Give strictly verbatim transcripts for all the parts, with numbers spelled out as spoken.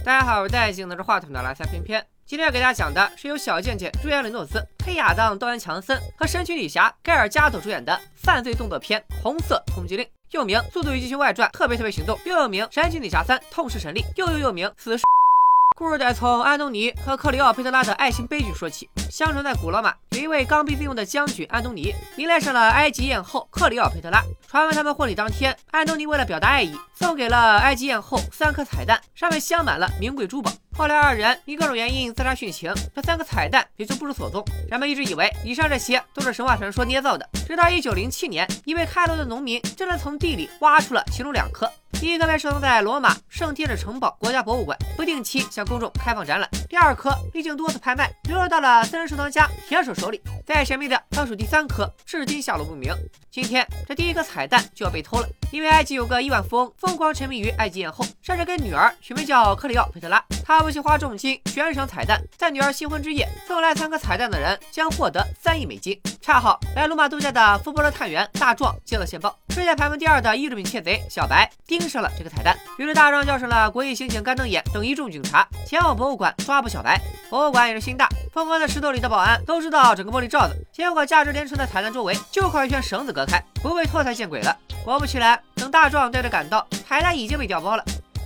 大家好，我是戴镜拿着话筒的拉塞偏偏。今天要给大家讲的是由小贱贱、朱亚雷诺斯、黑亚当、道恩·强森和神奇女侠盖尔加朵主演的犯罪动作片《红色通缉令》，又名《速度与激情外传：特别特别行动》，又又名《神奇女侠三：痛失神力》，又又又名《死侍》。故事得从安东尼和克里奥佩特拉的爱情悲剧说起。相传在古罗马，有一位刚愎自用的将军安东尼，迷恋上了埃及艳后克里奥佩特拉。传闻他们婚礼当天，安东尼为了表达爱意，送给了埃及艳后三颗彩蛋，上面镶满了名贵珠宝。后来二人因各种原因自杀殉情，这三个彩蛋也就不知所踪。人们一直以为以上这些都是神话传说捏造的，直到一九零七年，一位开罗的农民真的从地里挖出了其中两颗。第一颗被收藏在罗马圣天使城堡国家博物馆，不定期向公众开放展览。第二颗历经多次拍卖，流落到了私人收藏家铁手手里。再神秘的倒数第三颗，至今下落不明。今天这第一颗彩蛋就要被偷了，因为埃及有个亿万富翁疯狂沉迷于埃及艳后，甚至给女儿取名叫克里奥佩特拉。他不惜花重金悬赏彩蛋，在女儿新婚之夜送来三颗彩蛋的人将获得三亿美金。恰好来罗马度假的福伯勒探员大壮接到线报，世界排名第二的艺术品窃贼小白盯上了这个彩蛋，于是大壮叫上了国际刑警干瞪眼等一众警察前往博物馆抓捕小白。博物馆也是心大，疯狂在石头里的保安都知道整个玻璃罩子，结果价值连城的彩蛋周围就靠一圈绳子隔开，不被拖才见鬼了。果不其然，等大壮带着赶到，彩蛋已经被调包了。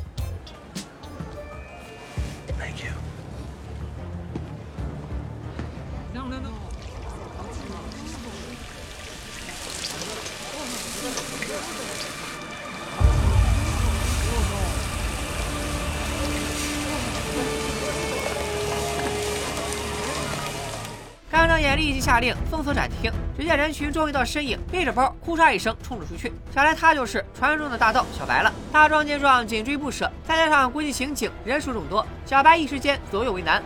干瞪眼立即下令封锁展厅，只见人群中一道身影背着包哭嚓一声冲了出去，想来他就是传说中的大盗小白了。大壮见状紧追不舍，再加上国际刑警人数众多，小白一时间左右为难。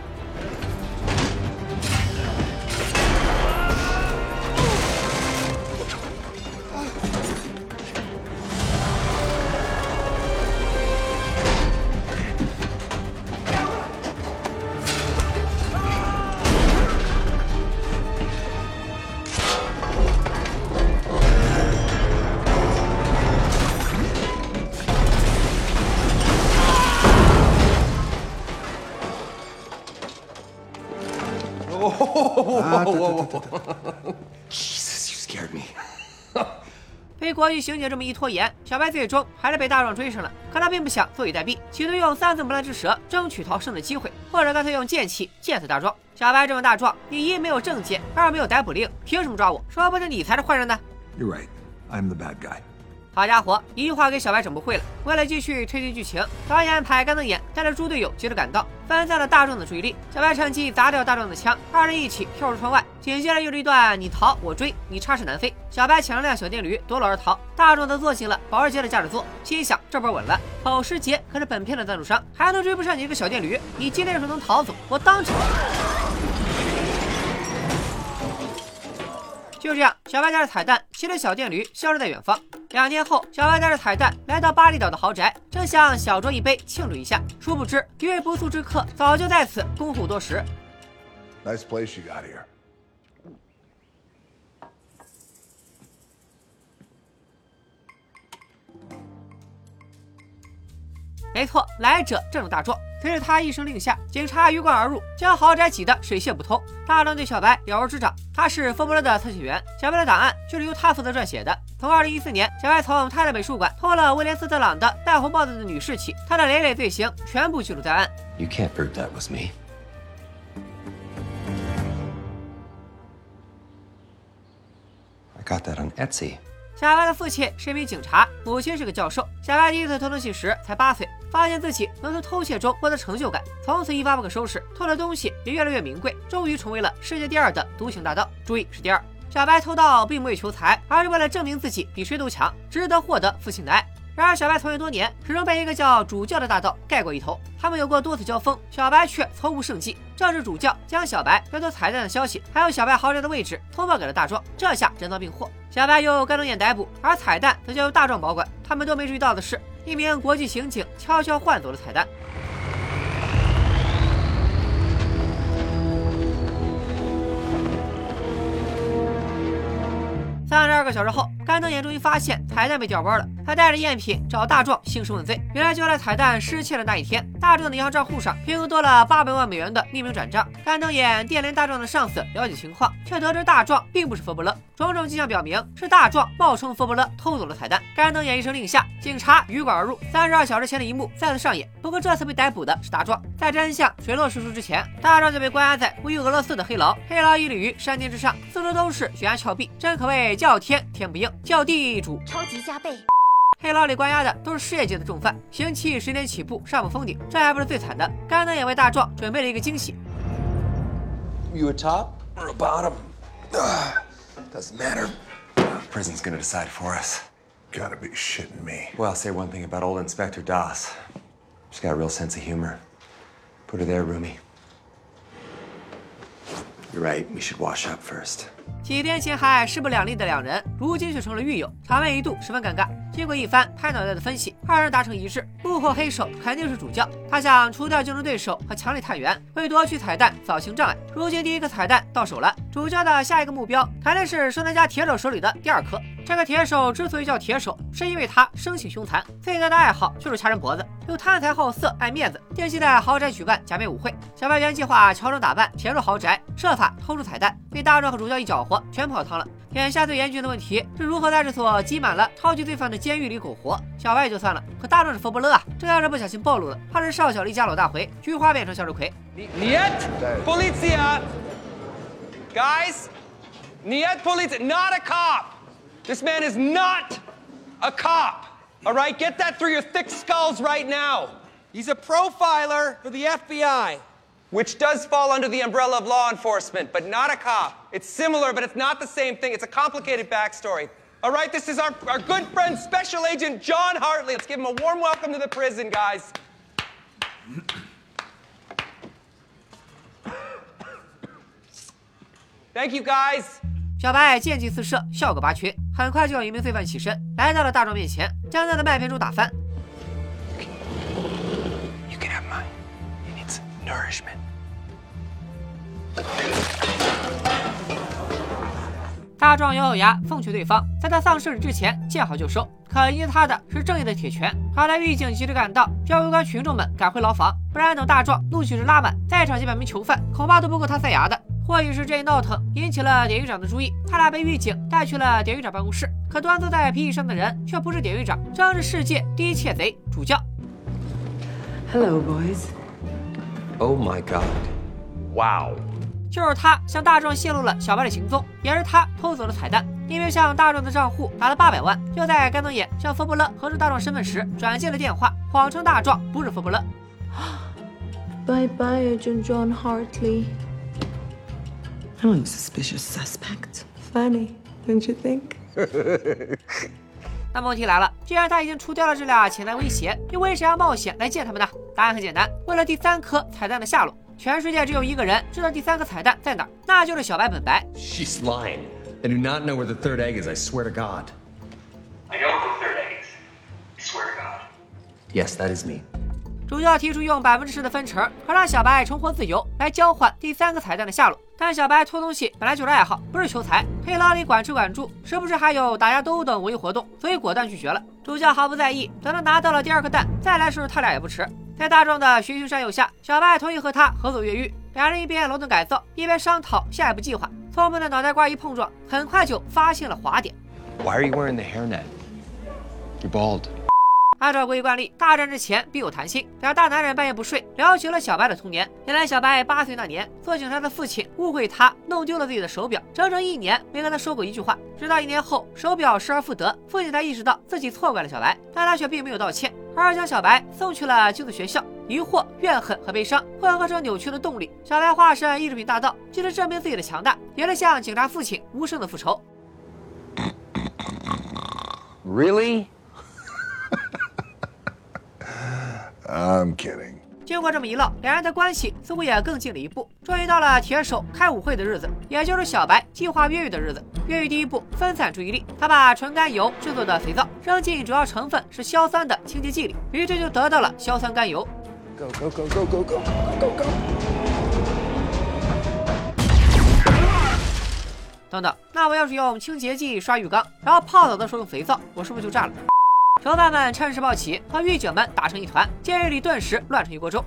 Jesus, you scared me. 被国际刑警这么一拖延，小白最终还是被大壮追上了。可他并不想坐以待毙，企图用三寸不烂之舌争取逃生的机会，或者干脆用剑气剑死大壮。小白这么大壮，你一没有证件，二没有逮捕令，凭什么抓我？说不定你才是坏人呢。 You're right. I'm the bad guy. 好家伙，一句话给小白整不会了。为了继续推进剧情，导演排干瞪眼带着猪队友接着赶到，分散了大壮的注意力。小白趁机砸掉大壮的枪，二人一起跳出窗外。紧接着又是一段你逃我追，你插翅难飞。小白抢了辆小电驴夺路而逃，大壮则坐进了保时捷的驾驶座，心想这波稳了。保时捷可是本片的赞助商，还能追不上你一个小电驴？你今天要是能逃走，我当场。就这样，小白带着彩蛋骑着小电驴消失在远方。两天后，小白带着彩蛋来到巴厘岛的豪宅，正想小酌一杯庆祝一下，殊不知一位不速之客早就在此恭候多时。 Nice place you got here. 没错，来者正是大壮。随着他一声令下，警察鱼贯而入，将豪宅挤得水泄不通。大壮对小白了如指掌，他是佛伯勒的特遣员，小白的档案就是由他负责撰写的。从二零一四年，小白从他的美术馆偷了威廉斯特朗的戴红帽子的女士起，他的累累罪行全部记录在案。 You can't prove that was me. I got that on Etsy. 小白的父亲是一名警察，母亲是个教授。小白第一次偷东西时才八岁，发现自己能从偷窃中获得成就感，从此一发不可收拾，偷的东西也越来越名贵，终于成为了世界第二的独行大盗。注意是第二。小白偷盗并不为求财，而是为了证明自己比谁都强，值得获得父亲的爱。然而小白从业多年，始终被一个叫主教的大盗盖过一头。他们有过多次交锋，小白却从无胜绩。正是主教将小白要偷彩蛋的消息，还有小白豪宅的位置通报给了大壮，这下人赃并获。小白由干瞪眼逮捕，而彩蛋则交由大壮保管。他们都没注意到的是，一名国际刑警悄悄换走了彩蛋。三十二个小时后，干瞪眼终于发现彩蛋被调包了。 他带着赝品找大壮兴师问罪。原来就在彩蛋失窃的那一天，大壮的银行账户上凭空多了八百万美元的匿名转账。干瞪眼电联大壮的上司了解情况，却得知大壮并不是佛伯勒，种种迹象表明是大壮冒充佛伯勒偷走了彩蛋。干瞪眼一声令下，警察鱼贯而入。三十二小时前的一幕再次上演，不过这次被逮捕的是大壮。在真相水落石出之前，大壮就被关押在位于俄罗斯的黑牢。黑牢屹立于山巅之上，四周都是悬崖峭壁，真可谓叫天天不应，叫地主超级加倍。 黑牢里关押的都是世界级的重犯，刑期十年起步，上不封顶。这还不是最惨的，干瞪眼为大壮准备了一个惊喜。 You a top Or a bottom. Ugh, doesn't matter. Prison's gonna decide for us. Gotta be shitting me. Well, I'll say one thing about old Inspector Das. She's got a real sense of humor. Put her there, Rumi. You're right, we should wash up first. 几天前还势不两立的两人，如今却成了狱友，场面一度十分尴尬。经过一番拍脑袋的分析，二人达成一致，幕后黑手肯定是主教。他想除掉竞争对手和强力探员，为夺取彩蛋扫清障碍。如今第一颗彩蛋到手了，主教的下一个目标肯定是收藏家铁手手里的第二颗。这个铁手之所以叫铁手，是因为他生性凶残，最大的爱好就是掐人脖子，又贪财好色，爱面子，定期在豪宅举办假面舞会。小白原计划乔装打扮潜入豪宅，设法偷出彩蛋，被大壮和主教一搅和，全泡汤了。眼下最严峻的问题是如何在这所挤满了超级罪犯的监狱里苟活。小白也就算了，可大壮是佛伯勒啊，这要是不小心暴露了，怕是少小离家老大回，菊花变成向日葵。 Niet politia! Guys, niet politia, not a cop! This man is not a cop! All right, get that through your thick skulls right now. He's a profiler for the F B I, which does fall under the umbrella of law enforcement, but not a cop. It's similar, but it's not the same thing. It's a complicated backstory. All right, this is our, our good friend, Special Agent John Hartley. Let's give him a warm welcome to the prison, guys. Thank you, guys. 小白见机四射，笑个拔群。很快就有一名罪犯起身，来到了大壮面前，将他的麦片猪打翻。 You can have mine. It needs nourishment. 大壮咬咬牙，奉劝对方在他丧生之前见好就收。可迎接他的是正义的铁拳。好在狱警及时赶到，叫围观群众们赶回牢房，不然等大壮怒气值拉满，再场几百名囚犯，恐怕都不够他塞牙的。 或许是这一闹腾引起了典狱长的注意，他俩被狱警带去了典狱长办公室。可端坐在皮椅上的人却不是典狱长，正是世界第一窃贼主教。 Hello, boys. Oh my god. Wow. 就是他向大壮泄露了小白的行踪，也是他偷走了彩蛋。因为向大壮的账户打了八百万，就在干瞪眼向佛伯勒核实大壮身份时，转接了电话，谎称大壮不是佛伯勒。 Bye bye, Agent John Hartley. I'm a suspicious suspect. Funny, don't you think? 那么问题来了，既然他已经除掉了这俩潜在威胁，又为啥要冒险来见他们呢？答案很简单，为了第三颗彩蛋的下落。全世界只有一个人知道第三颗彩蛋在哪儿，那就是小白本白。 She's lying. I do not know where the third egg is, I swear to God. I know what the third egg is. I swear to God. Yes, that is me. 主教提出用百分之十的分成和让小白重获自由来交换第三个彩蛋的下落，但小白偷东西本来就是爱好，不是求财。黑牢里管吃管住，时不时还有打架斗殴等文艺活动，所以果断拒绝了。主教毫不在意，等他拿到了第二颗蛋，再来收拾他俩也不迟。在大壮的循循善诱下，小白同意和他合作越狱，两人一边楼栋改造，一边商讨下一步计划。聪明的脑袋瓜一碰撞，很快就发现了滑点。 Why are you wearing the hairnet? You're bald. 按照国际惯例，大战之前必有谈心。俩大男人半夜不睡，聊起了小白的童年。原来小白八岁那年，做警察的父亲误会他弄丢了自己的手表，整整一年没跟他说过一句话。直到一年后，手表失而复得，父亲才意识到自己错怪了小白，但他却并没有道歉，而是将小白送去了寄宿学校。疑惑、怨恨和悲伤混合成扭曲的动力，小白化身意志品大盗，既是证明自己的强大，也是向警察父亲无声的复仇。 Really? I'm kidding. 经过这么一唠，两人的关系似乎也更近了一步。终于到了铁手开舞会的日子，也就是小白计划越狱的日子。越狱第一步，分散注意力。他把纯甘油制作的肥皂扔进主要成分是硝酸的清洁剂里，于是就得到了硝酸甘油。 Go, go, go, go, go, go, go, go. 等等，那我要是用清洁剂刷浴缸，然后泡澡的时候用肥皂，我是不是就炸了？ 囚犯们趁势抱起，和狱警们打成一团，监狱里顿时乱成一锅粥。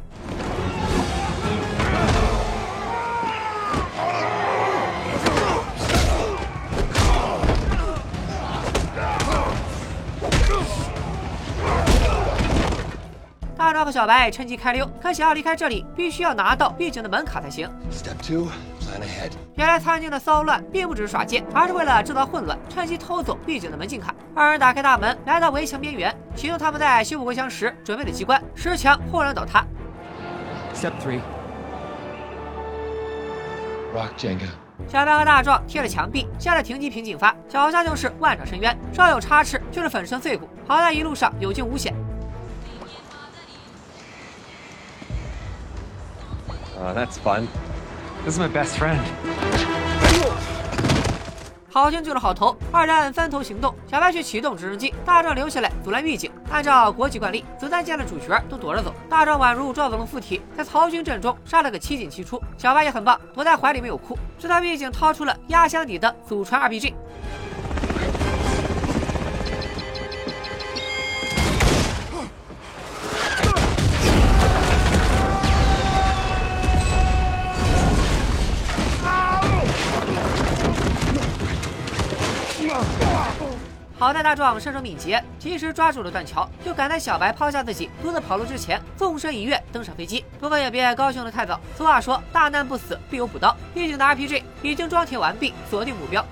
大壮和小白趁机开溜，可想要离开这里，必须要拿到狱警的门卡才行。 Step two, plan ahead. 原来餐厅的骚乱并不只是耍贱，而是为了制造混乱，趁机偷走狱警的门禁卡。二人打开大门，来到围墙边缘，启动他们在修补围墙时准备的机关，石墙轰然倒塌。 Step three. Rock Jenga. 小白和大壮贴着墙壁，向着停机坪进发，脚下就是万丈深渊，稍有差池就是粉身碎骨。好在一路上有惊无险。 Oh, that's fun. This is my best friend. 好心救了好头，二人分头行动。小白去启动直升机，大壮留下来阻拦狱警。按照国际惯例，子弹见了主角都躲着走。大壮宛如赵子龙附体，在曹军阵中杀了个七进七出。小白也很棒，躲在怀里没有哭，直到狱警掏出了压箱底的祖传 R P G。 好在大壮身手敏捷，及时抓住了断桥，就赶在小白抛下自己独自跑路之前，纵身一跃登上飞机。不过也别高兴得太早，俗话说大难不死必有补刀。狱警的 R P G 已经装填完毕，锁定目标。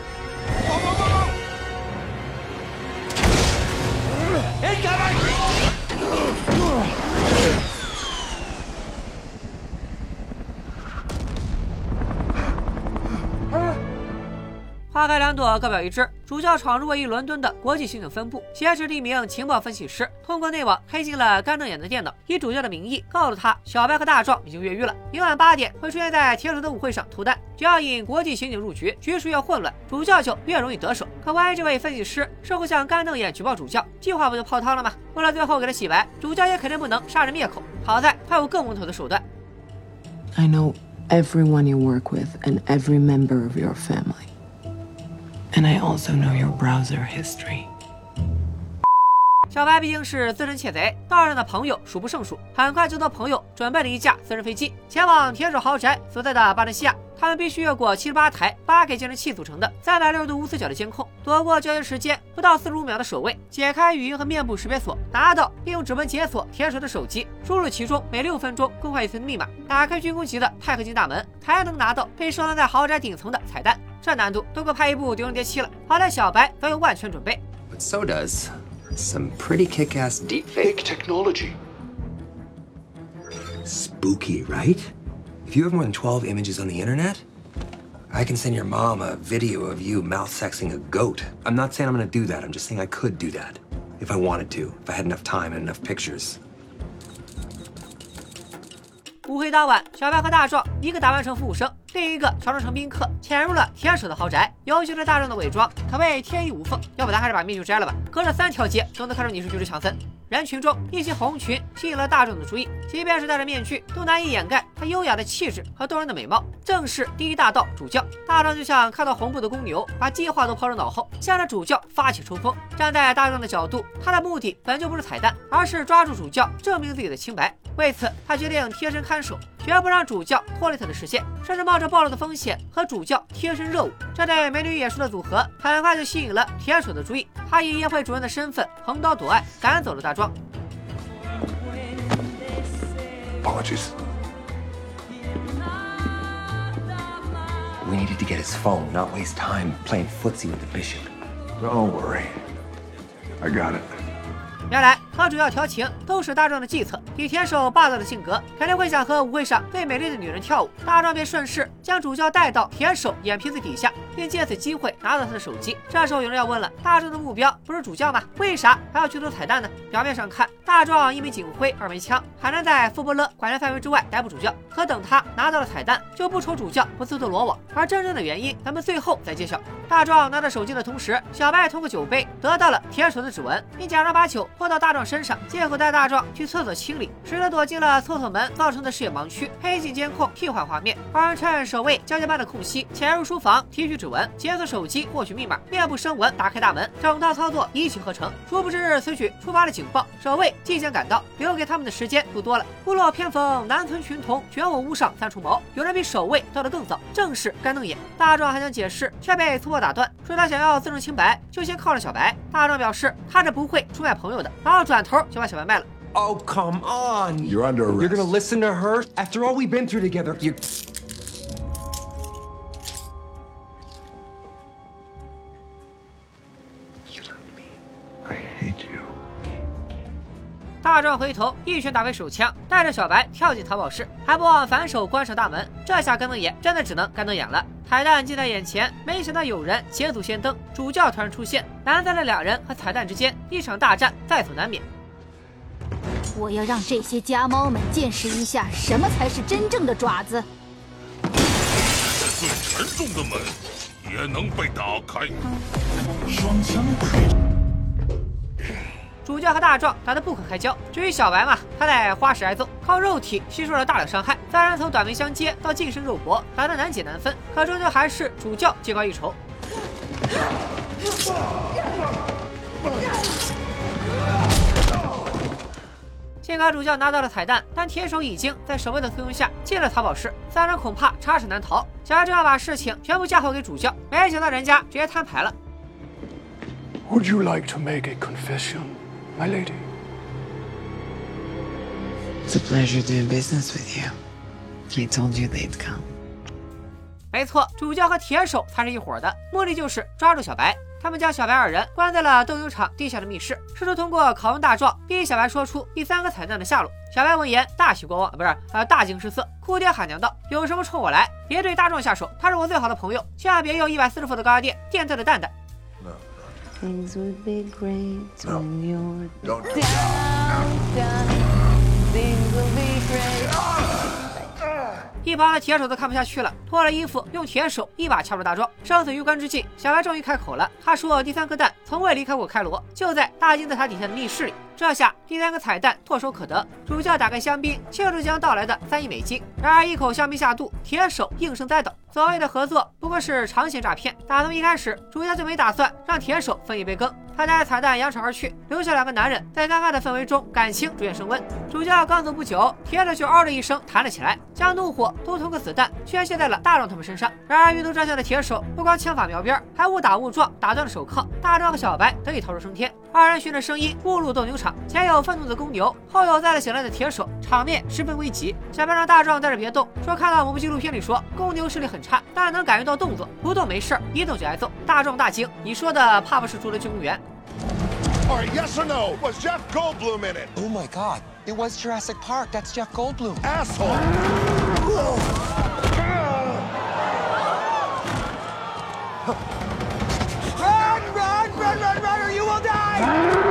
花开两朵，各表一枝。主教闯入位于伦敦的国际刑警分部，挟持了一名情报分析师，通过内网黑进了干瞪眼的电脑，以主教的名义告诉他，小白和大壮已经越狱了，明晚八点会出现在铁手的舞会上脱单。只要引国际刑警入局，局势越混乱，主教就越容易得手。可万一这位分析师事后向干瞪眼举报主教，计划不就泡汤了吗？为了最后给他洗白，主教也肯定不能杀人灭口。好在他有更稳妥的手段。 I know everyone you work with and every member of your family. And I also know your browser history. 小白毕竟是资深窃贼，道上的朋友数不胜数。很快就托朋友准备了一架私人飞机，前往铁手豪宅所在的巴伦西亚。他们必须越过七十八台八 K 监视器组成的三百六十度无死角的监控，躲过交接时间不到四十五秒的守卫，解开语音和面部识别锁，拿到并用指纹解锁铁手的手机，输入其中每六分钟更换一次的密码，打开军工级的钛合金大门，才能拿到被收藏在豪宅顶层的彩蛋。这难度都够拍一部《狄仁杰七》了。好在小白早有万全准备。 But so does some pretty kick-ass deepfake technology. Spooky, right? If you have more than twelve images on the internet, I can send your mom a video of you mouth-sexing a goat. I'm not saying I'm gonna do that. I'm just saying I could do that if I wanted to, if I had enough time and enough pictures. 舞会当晚，小白和大壮一个打扮成服务生，另一个乔装成宾客，潜入了铁手的豪宅。尤其是大壮的伪装，可谓天衣无缝。要不咱还是把面具摘了吧，隔着三条街都能看出你是巨石强森。人群中，一袭红裙吸引了大众的注意，即便是戴着面具，都难以掩盖他优雅的气质和动人的美貌。正是第一大盗主教。大壮就像看到红布的公牛，把计划都抛入脑后，向着主教发起冲锋。站在大壮的角度，他的目的本就不是彩蛋，而是抓住主教，证明自己的清白。为此，他决定贴身看守，绝不让主教脱离他的视线，甚至冒着暴露的风险和主教贴身热舞。这对美女野兽的组合很快就吸引了铁手的注意。他以宴会主人的身份横刀夺爱，赶走了大壮。 Apologies. We needed to get his phone, not waste time playing footsie with the bishop. Don't worry. I got it. 原来和主要调情都是大壮的计策。以铁手霸道的性格，肯定会想和舞会上最美丽的女人跳舞。大壮便顺势将主教带到铁手眼皮子底下，并借此机会拿到他的手机。这时候有人要问了：大壮的目标不是主教吗？为啥还要去偷彩蛋呢？表面上看，大壮一枚警徽，二枚枪，还能在富伯勒管辖范围之外逮捕主教。可等他拿到了彩蛋，就不愁主教不自投罗网。而真正的原因，咱们最后再揭晓。大壮拿着手机的同时，小白通过酒杯得到了铁手的指纹，并假装把酒泼到大壮身上，借口带大壮去厕所清理，使他躲进了厕所门造成的视野盲区。黑镜监控替换画面，二人趁手守卫交接班的空隙潜入书房提取指纹，解锁手机获取密码，面部声纹打开大门，整套操作一气呵成。殊不知此举触发了警报，守卫即将赶到，留给他们的时间不多了。屋漏偏逢南村群童，卷我屋上三重谋。有人比守卫到得更早，正是干瞪眼。大壮还想解释，却被粗暴打断，说他想要自证清白，就先铐了小白。大壮表示他是不会出卖朋友的，然后转头就把小白卖了。 Oh, come on. You're under arrest. You're gonna listen to her? After all we've been through together, you... You love me. I hate you. 大壮回头一拳打飞手枪，带着小白跳进淘宝室，还不忘反手关上大门。这下干瞪眼真的只能干瞪眼了。彩蛋近在眼前，没想到有人捷足先登，主教突然出现，拦在了两人和彩蛋之间，一场大战在所难免。 我要让这些家猫们见识一下什么才是真正的爪子。 这最沉重的门也能被打开。双枪配。 主教和大壮打得不可开交。至于小白嘛，他在花式挨揍，靠肉体吸收了大量伤害，三人从短兵相接到近身肉搏，打得难解难分，可终究还是主教技高一筹。 幸好主教拿到了彩蛋，但铁手已经在守卫的簇拥下进了淘宝室，三人恐怕插翅难逃。小白正要把事情全部嫁祸给主教，没想到人家直接摊牌了。 Would you like to make a confession, my lady? It's a pleasure doing business with you. I told you they'd come. 没错，主教和铁手才是一伙的，目的就是抓住小白。 他们将小白二人关在了斗牛场地下的密室，试图通过拷问大壮，逼小白说出第三个彩蛋的下落。小白闻言大喜过望，不是呃大惊失色，哭爹喊娘道：“有什么冲我来，别对大壮下手，他是我最好的朋友，千万别用一百四十伏的高压电电他的蛋蛋。” Things would be great when you're Don't. down, down. Things would be great. 一旁的铁手都看不下去了，脱了衣服，用铁手一把掐住大壮。生死攸关之际，小白终于开口了。他说：“第三颗蛋从未离开过开罗，就在大金字塔底下的密室里。”这下第三个彩蛋唾手可得。主教打开香槟，庆祝即将到来的三亿美金。然而一口香槟下肚，铁手应声栽倒。所谓的合作不过是长线诈骗。打从一开始，主教就没打算让铁手分一杯羹。他带彩蛋扬长而去，留下两个男人在尴尬的氛围中，感情逐渐升温。主教刚走不久，铁手就嗷的一声弹了起来，将怒火都通过子弹宣泄在了大壮他们身上。然而遇到这样的铁手，不光枪法瞄边，还误打误撞打断了手铐。大壮和小白得以逃出升天。二人循着声音误入斗牛场，前有愤怒的公牛，后有再了醒来的铁手，场面十分危急。小白让大壮在这别动，说看到某部纪录片里说公牛视力很差，但能感觉到动作，不动没事，一动就挨揍。大壮大惊，你说的怕不是侏罗纪公园？ All right, yes or no? Was Jeff Goldblum in it? Oh my God! It was Jurassic Park. That's Jeff Goldblum. Asshole! Run, run, run, run, run, or you will die!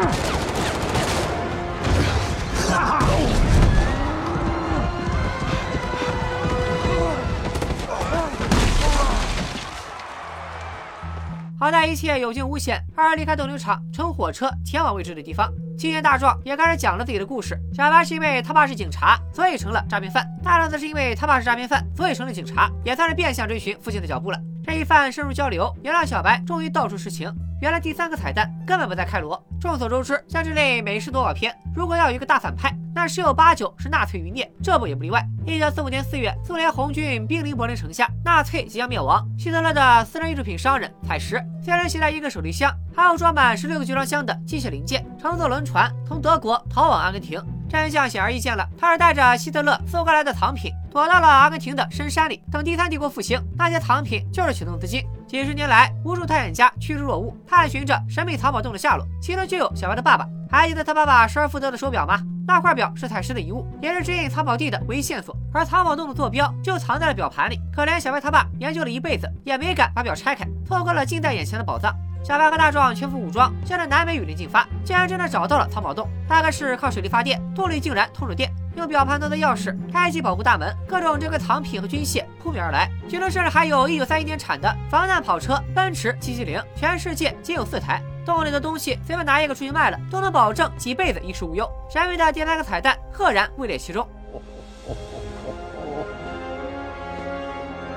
好在一切有惊无险，二人离开斗牛场，乘火车前往未知的地方。期间，大壮也开始讲了自己的故事。小白是因为他爸是警察，所以成了诈骗犯；大壮则是因为他爸是诈骗犯，所以成了警察，也算是变相追寻父亲的脚步了。这一番深入交流，也让小白终于道出实情。原来第三个彩蛋根本不在开罗。众所周知，像这类美式动画片，如果要有一个大反派，那十有八九是纳粹余孽，这部也不例外。一九四五年四月，苏联红军兵临柏林城下，纳粹即将灭亡。希特勒的私人艺术品商人采石，虽然携带一个手提箱，还有装满十六个集装箱的机械零件，乘坐轮船从德国逃往阿根廷。真相显而易见了，他是带着希特勒搜刮来的藏品，躲到了阿根廷的深山里。等第三帝国复兴，那些藏品就是启动资金。几十年来，无数探险家趋之若鹜，探寻着神秘藏宝洞的下落，其中就有小白的爸爸。还记得他爸爸失而复得的手表吗？那块表是采石的遗物，也是指引藏宝地的唯一线索。而藏宝洞的坐标就藏在了表盘里。可怜小白他爸研究了一辈子，也没敢把表拆开，错过了近在眼前的宝藏。小白和大壮全副武装，向着南美雨林进发，竟然真的找到了藏宝洞。大概是靠水力发电，洞里竟然通着电。用表盘当做钥匙，开启保护大门，各种珍贵藏品和军械扑面而来，其中甚至还有一九三一年产的防弹跑车奔驰七七零，全世界仅有四台。洞里的东西随便拿一个出去卖了，都能保证几辈子衣食无忧。神秘的第三个彩蛋赫然位列其中。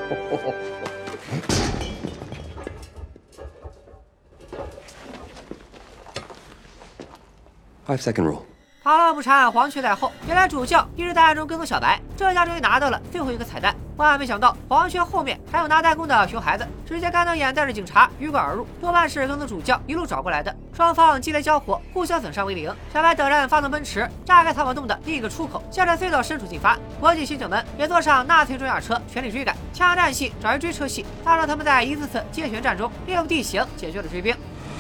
Five second rule. 螳螂捕蝉，黄雀在后。原来主教一直在暗中跟踪小白，这下终于拿到了最后一个彩蛋。万万没想到，黄雀后面还有拿弹弓的熊孩子，直接干瞪眼带着警察鱼贯而入，多半是跟踪主教一路找过来的。双方激烈交火，互相损伤为零。小白等人发动奔驰，炸开逃跑洞的另一个出口，向着隧道深处进发。国际刑警们也坐上纳粹装甲车，全力追赶。枪战戏转为追车戏，大让他们在一次次接舷战中利用地形解决了追兵。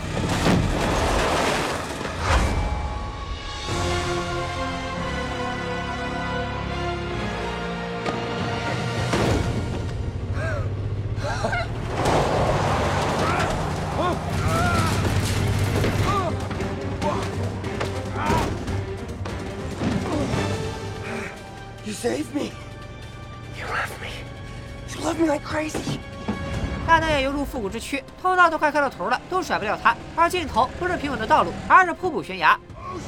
You saved me. You left me. You love me like crazy. 干瞪眼犹如复古之躯，通道都快开到头了，都甩不掉他。而尽头不是平稳的道路，而是瀑布悬崖。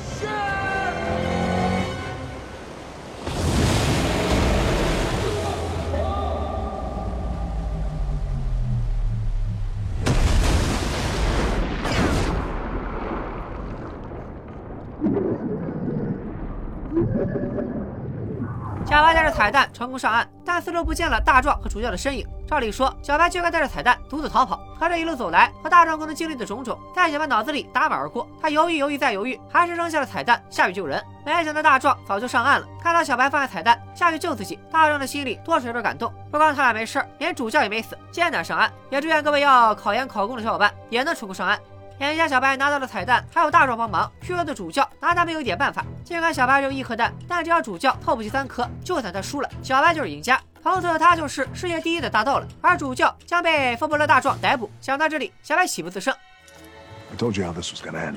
小白带着彩蛋成功上岸，但四周不见了大壮和主教的身影。照理说，小白就该带着彩蛋独自逃跑，可这一路走来和大壮共同经历的种种，在小白脑子里打马而过。他犹豫犹豫再犹豫，还是扔下了彩蛋下去救人。没想到大壮早就上岸了，看到小白放下彩蛋下去救自己，大壮的心里多少有点感动。不光他俩没事，连主教也没死，艰难上岸。也祝愿各位要考研考公的小伙伴也能成功上岸。眼下小白拿到了彩蛋，还有大壮帮忙，虚弱的主教拿他没有一点办法。尽管小白只有一颗蛋，但只要主教凑不齐三颗，就算他输了，小白就是赢家。从此他就是世界第一的大盗了，而主教将被佛伯勒大壮逮捕。想到这里，小白喜不自胜。 I told you how this was gonna end.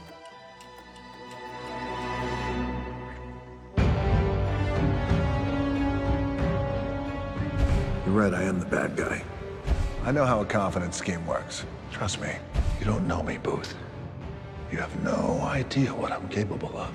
You're right, I am the bad guy. I know how a confidence scheme works. Trust me. You don't know me, Booth. You have no idea what I'm capable of.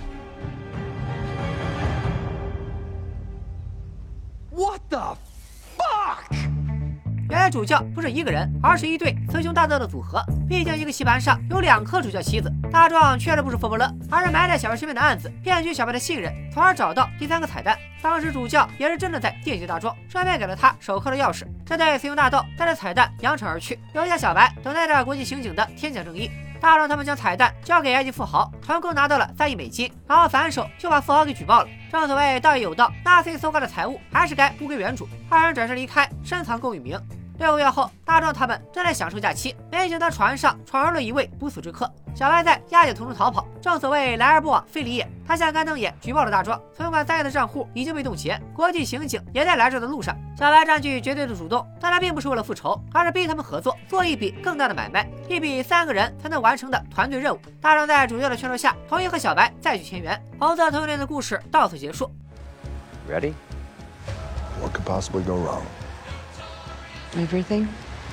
What the fuck? 原来主教不是一个人，而是一对雌雄大盗的组合。毕竟一个棋盘上有两颗主教棋子。大壮确实不是佛伯勒，而是埋在小白身边的案子，骗取小白的信任，从而找到第三个彩蛋。当时主教也是真的在电击大壮，顺便给了他手铐的钥匙。这对雌雄大盗带着彩蛋扬长而去，留下小白等待着国际刑警的天降正义。大壮他们将彩蛋交给埃及富豪，成功拿到了三亿美金，然后反手就把富豪给举报了。正所谓道义有道，纳粹搜刮的财物还是该物归原主。二人转身离开，深藏功与名。六个月后，大壮他们正在享受假期，没想到船上闯入了一位不速之客。小白在押解途中逃跑，正所谓来而不往非礼也。他向干瞪眼举报了大壮，存款三亿的账户已经被冻结，国际刑警也在来这的路上。小白占据绝对的主动，但他并不是为了复仇，而是逼他们合作，做一笔更大的买卖，一笔三个人才能完成的团队任务。大壮在主教的劝说下，同意和小白再去前缘。红色同性恋的故事到此结束。 Ready? What could possibly go wrong? Everything?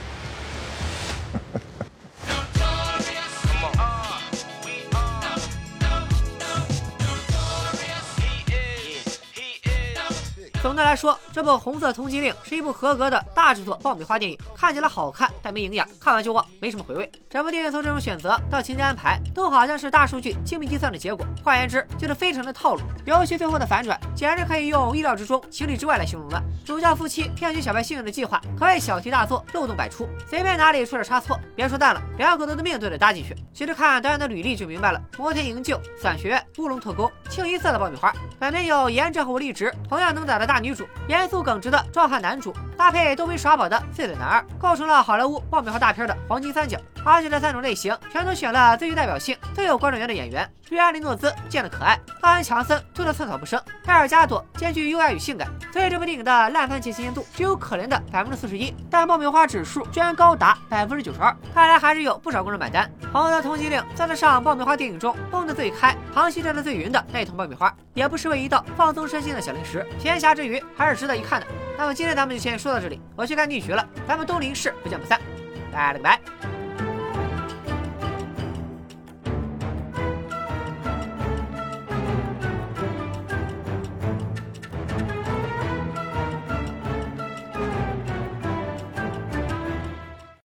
总的来说，这部《红色通缉令》是一部合格的大制作爆米花电影，看起来好看但没营养，看完就忘，没什么回味。整部电影从这种选择到情节安排，都好像是大数据精密计算的结果。换言之，就是非常的套路。尤其最后的反转，简直可以用意料之中、情理之外来形容了。主教夫妻骗取小白信任的计划，可谓小题大做，漏洞百出，随便哪里出点差错，别说蛋了，两口子的命都得搭进去。其实看导演的履历就明白了：摩天营救、伞学院、乌龙特工，清一色的爆米花。本片有颜值和活力值同样能打的大女主，严肃耿直的壮汉男主，搭配逗逼耍宝的碎嘴男二，构成了好莱坞爆米花大片的黄金三角。而且这三种类型全都选了最具代表性、最有观众缘的演员。瑞安·雷诺兹见得可爱，奥恩·强森推得寸草不生，盖尔加朵兼具优雅与性感，所以这部电影的烂番茄新鲜度只有可怜的百分之四十一，但爆米花指数居然高达百分之九十二，看来还是有不少观众买单。《红色通缉令》算得上爆米花电影中蹦得最开、航行站得最匀的那一桶爆米花，也不失为一道放松身心的小零食，闲暇之余还是值得一看的。那么今天咱们就先说到这里，我去看逆局了，咱们东林市不见不散，拜了个拜。